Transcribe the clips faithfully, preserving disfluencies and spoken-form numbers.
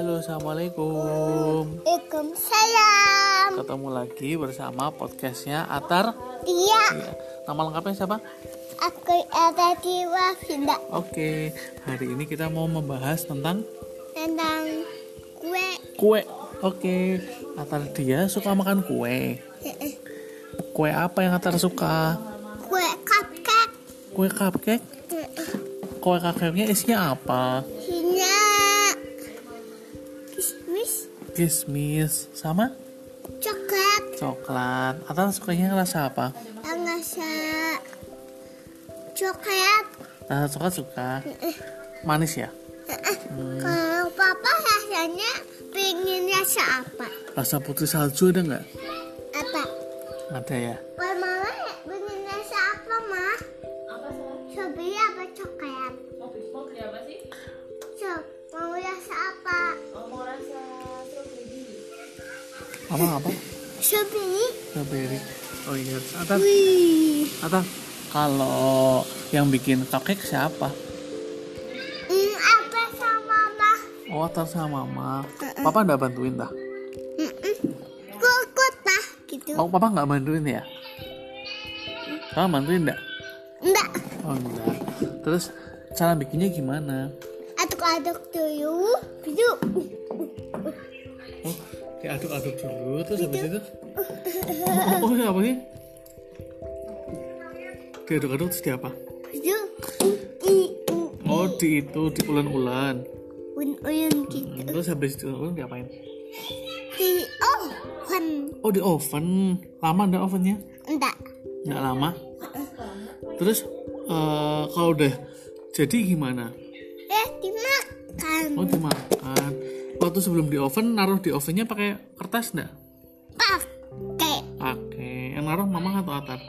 Halo, assalamualaikum. Waalaikumsalam. Ketemu lagi bersama podcastnya Atar. Iya. Iya. Nama lengkapnya siapa? Aku ada di Wafinda Oke, hari ini kita mau membahas tentang tentang kue. kue. Oke, Atar dia suka makan kue. Kue apa yang Atar suka? Kue cupcake. Kue cupcake. Kue cupcake-nya isinya apa? Isinya kismis, Kismis sama coklat, coklat. Atar sukanya rasa apa? rasa coklat. Rasa coklat suka. Manis ya? Hmm. Kalau papa rasanya pengen rasa apa? Rasa putri salju ada nggak? Apa? Ada ya. Kalau mama pengen rasa apa, Ma? Apa sih? Strawberry apa coklat? Mau beli apa sih? So, mau rasa apa? Oh, mau rasa strawberry. Apa apa? Strawberry. Strawberry. Oh iya. Atar. Wih. Atar. Kalau yang bikin cupcake siapa? Hmm, apa sama Mama? Oh, Atar sama Mama. Papa nggak bantuin dah? Kukut lah gitu. Oh, Papa nggak bantuin ya? Papa bantuin nggak? Enggak. Oh enggak. Terus cara bikinnya gimana? Aduk-aduk dulu. Gitu. Oh, diaduk-aduk dulu. Terus habis itu? Oh, oh ya apa sih? Diaduk-aduk terus di apa? Gitu. I, u, Oh, di itu di ulen-ulen. un-un gitu. Hmm, terus habis itu ulen diapain? Di oven. Oh, di oven. Lama enggak ovennya? Enggak. Enggak lama. Terus eh, kalau udah jadi gimana? Eh, dimakan. Oh, dimakan. Waktu sebelum di oven, naruh di ovennya pakai kertas enggak? Pakai Pakai. Yang naruh mama atau Atar?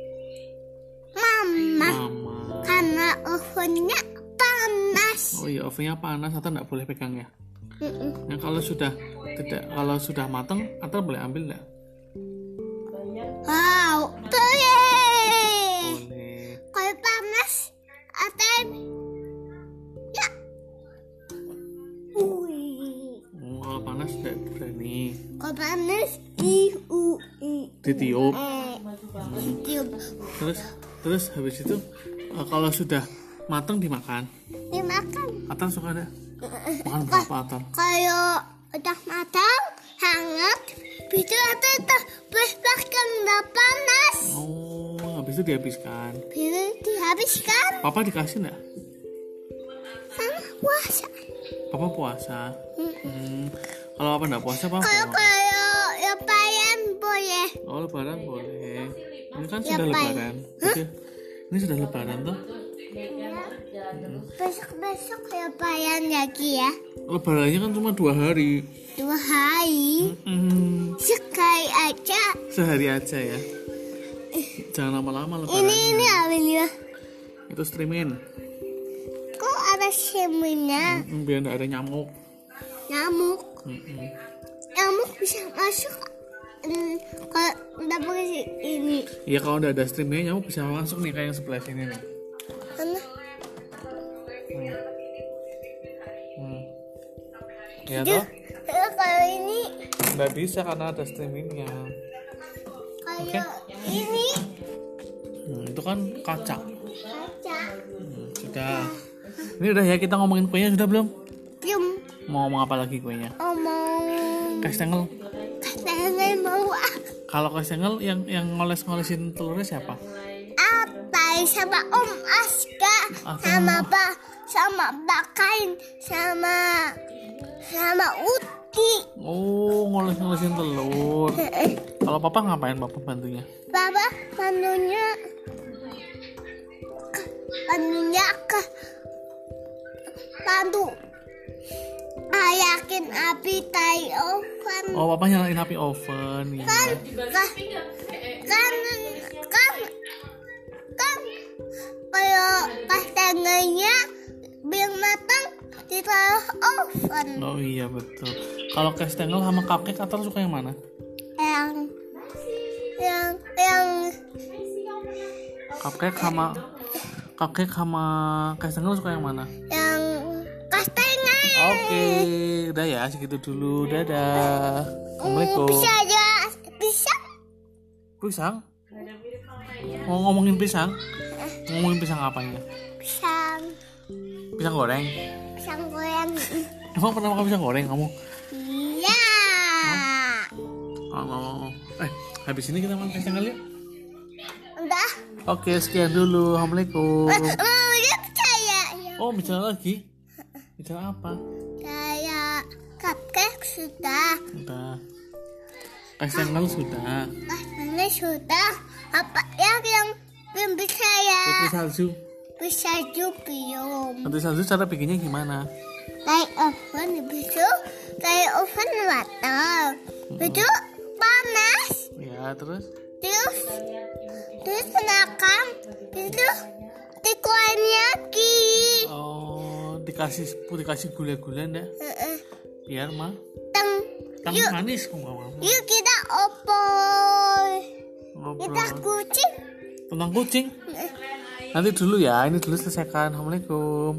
mama. Mama. Karena ovennya panas. Oh iya, ovennya panas, Atar enggak boleh pegang ya? Mm-mm. Nah, kalau sudah tidak kalau sudah matang, Atar boleh ambil enggak? Wow, boleh. Boleh. Kalau panas, atau ya. Wih. Oh, kalau panas enggak berani. Kalau panas, i u i. Ditiup. Eh, tiup. Terus terus habis itu eh, kalau sudah matang dimakan. Dimakan. Atar suka ada? Makan berapa Atar? Kalau udah matang, hangat, bisa tetap makan udah panas. Oh, habis itu dihabiskan. Bisa dihabiskan Papa dikasih enggak? sama puasa. Papa puasa. Hmm. Kalau Papa enggak puasa, Papa Kalau mau? kalau lebaran boleh. Oh, lebaran boleh. Ini kan Ya, sudah Pak. lebaran. Oke. Ini sudah lebaran tuh. Besok-besok lebaran lagi ya. Lebarannya kan cuma dua hari. Dua hari. Hmm. Sekali aja. Sehari aja ya. Jangan lama-lama lebaran. Ini ini awalnya. Itu streamin. Kok ada semuanya? Hmm, biar enggak ada nyamuk. Nyamuk. Hmm. Nyamuk bisa masuk. Hmm, kalau udah pakai ini. Ya kalau udah ada streamnya nyamuk bisa masuk nih kayak yang sebelah sini nih. Mana? Hmm. Ya Duh, toh? eh, kalau ini, Nggak bisa karena ada streamingnya. kalau ini Hmm, itu kan kaca. kaca. Hmm, sudah. Ini udah ya, kita ngomongin kuenya sudah belum? Belum Mau ngomong apa lagi kuenya? omong. Kastengel. Katanya mau Kalau kastengel yang yang ngoles-ngolesin telurnya siapa? apa sama Om Aska, Apa? sama Pak, sama Bakain, sama sama Uti. Oh, ngoles-ngolesin telur. Kalau papa ngapain papa bantunya? Papa pandunya pandunya ke pandu ayakin api tai oven. Oh, papa nyalain api oven ya. kan kan kan kan kan kalau kastengelnya biar matang ditaruh oven. Oh iya betul. Kalau kastengel sama cupcake Atar suka yang mana? yang yang yang Cupcake sama cupcake sama kastengel suka yang mana? yang kastengel. Oke, udah ya segitu dulu. Dadah. Assalamualaikum. Bisa aja. Bisa. Pisang? Mau ngomongin pisang? Ngomongin pisang apa ya? Pisang. Pisang goreng. Pisang goreng. Emang pernah makan pisang goreng kamu? Iya. Oh, eh, habis ini kita makan pisang kali ya? Udah. Oke, sekian dulu. Assalamualaikum. Mau dia percaya. Oh, bicara lagi? Bicara apa? Kayak cupcake sudah. Udah. Kacang sudah. Ini sudah. Apa yang yang belum bisa ya? Putri salju. Bisa juga belum. Putri salju cara bikinnya gimana? Kayak oven itu kayak oven matang. Itu panas. Ya, terus? Terus terus menakam. Itu dikuarin lagi. Oh, dikasih dikasih gula-gula enggak? Heeh. Biar mah. Teng. Kamu Yuk. manis kamu kamu. Yuk kita opor. Kita Ngobrol kucing. tentang kucing. Nanti dulu ya, ini dulu selesaikan. Assalamualaikum.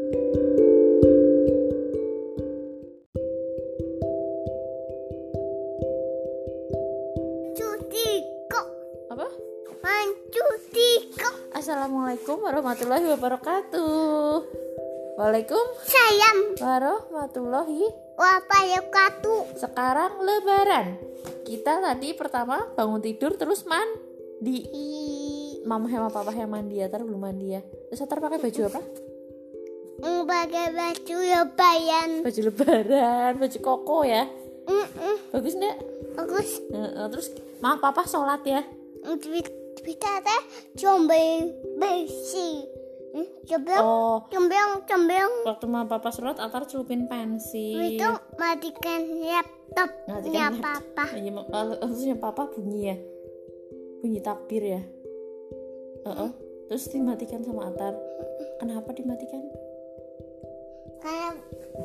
Cuti kok. Apa? Mancuti kok. Assalamualaikum warahmatullahi wabarakatuh. Waalaikum Sayang. warahmatullahi. Wabarakatuh. Sekarang lebaran. Kita tadi pertama bangun tidur terus mandi. Mama sama papa yang mandi ya, Atar belum mandi ya. Terus Atar pakai baju apa? Mm, pakai baju lebaran. Baju lebaran, baju koko ya. Mm-mm. Bagus enggak? Bagus. Heeh, terus mama papa sholat ya. Kita teh combeng besi. Hmm, Combeng, Oh, combeng, combeng. waktu mama papa sholat Atar celupin pensil. Itu matikan laptop Matikan ya laptop. papa. Iya, ma- lalu- terusnya papa bunyi ya, bunyi takbir ya. Heeh. Terus dimatikan sama Atar. Kenapa dimatikan? Kayak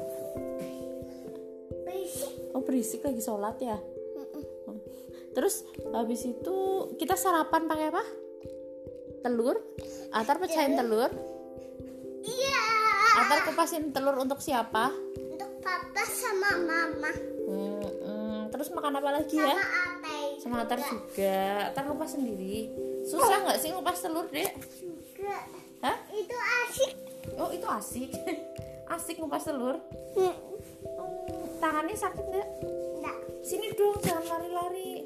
besi. Oh, berisik lagi sholat ya. Terus habis itu kita sarapan pakai apa? Telur. Atar pecahin telur. Iya. Atar kupasin telur untuk siapa? Untuk papa sama mama. Hmm, hmm. Terus makan apa lagi ya? Sama Atay. Sama Atar juga. Atar ngupas sendiri. Susah nggak sih ngupas telur, Dek? Juga. Hah? Itu asik. Oh, itu asik. Asik ngupas telur. Hmm, Hmm, tangannya sakit nggak? Enggak. Sini dong, jangan lari-lari.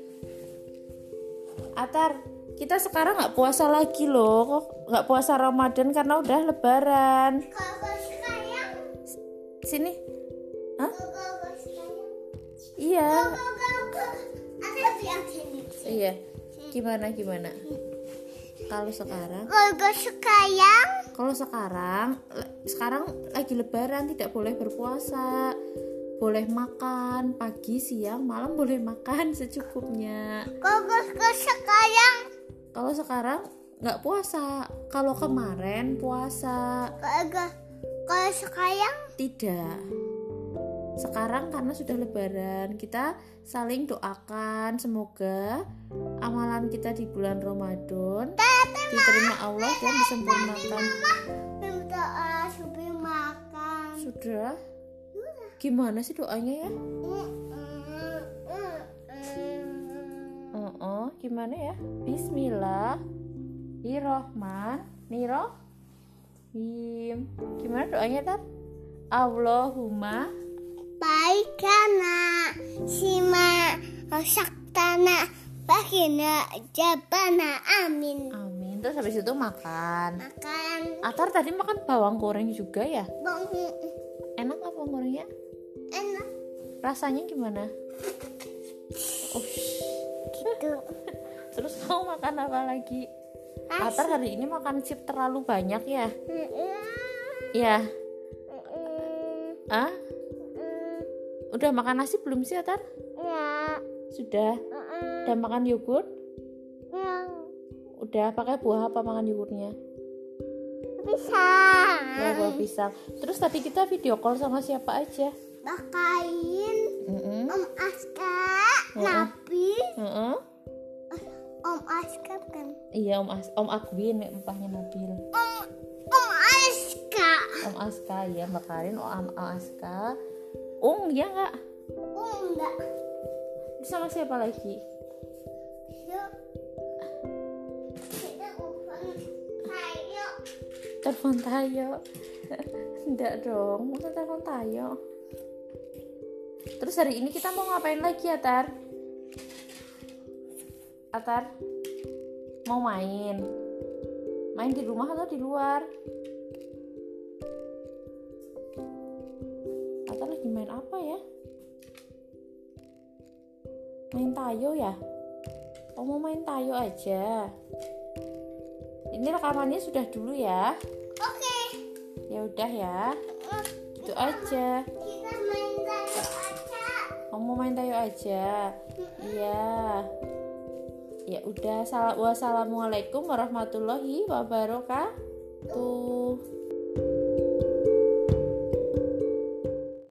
Atar, kita sekarang nggak puasa lagi loh, nggak puasa Ramadan karena udah Lebaran. Kalau sayang, Sini, hah? kalau sayang. Iya, Ada yang sini. iya. Gimana gimana? Kalau sekarang, Kalau sayang, kalau sekarang, le- sekarang lagi Lebaran tidak boleh berpuasa, boleh makan pagi, siang, malam boleh makan secukupnya. kalau sayang, Kalau sekarang nggak puasa, kalau kemarin puasa. kalau kalau sayang, Tidak. Sekarang karena sudah lebaran, kita saling doakan semoga amalan kita di bulan Ramadan diterima Allah dan disempurnakan. berdoa sebelum makan. Sudah? Gimana sih doanya ya? Oh, oh, gimana ya? Bismillahirrahmanirrahim. Gimana doanya, Tar? Allahumma Baikana sima saktana bagina jabana amin. amin. Terus habis itu makan. Makan Atar tadi makan bawang goreng juga ya? bang Enak nggak bawang gorengnya? enak Rasanya gimana? Oh, gitu. terus kamu makan apa lagi? Nasi. Atar hari ini makan chip terlalu banyak ya? Ya. Ah? Udah makan nasi belum sih, Atar? Ya, Sudah. Udah makan yogurt? ya, Udah. Pakai buah apa makan yogurtnya? bisa. Buah buah pisang. Terus tadi kita video call sama siapa aja? Bakain Mm-mm. Om Aska, Mm-mm. Nabi, Mm-mm. Om Aska kan? Iya, Om As Om Agwin, empahnya Nabil. Om Om Aska. Om Aska ya, Mbak Karin, Om, Om Aska. Ung ya nggak? Oh enggak. Sama siapa lagi? Yuk. Kita telepon Tayo. Telepon Tayo. Enggak dong, masa telepon Tayo. Terus hari ini kita mau ngapain lagi, Atar? Atar mau main? Main di rumah atau di luar? Atar lagi main apa ya? Main Tayo ya? Oh, mau main Tayo aja. Ini rekamannya sudah dulu ya. Oke. Ya udah ya. Itu aja. Kita main Tayo aja. Oh, mau main Tayo aja. Iya. Ya udah. Wassalamualaikum warahmatullahi wabarakatuh.